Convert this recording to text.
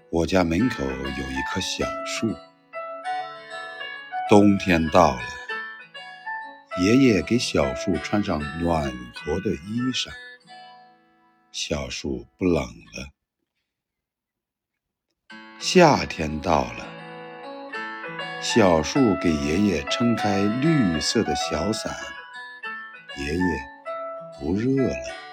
我家门口有一棵小树，冬天到了，爷爷给小树穿上暖和的衣裳，小树不冷了。夏天到了，小树给爷爷撑开绿色的小伞，爷爷不热了。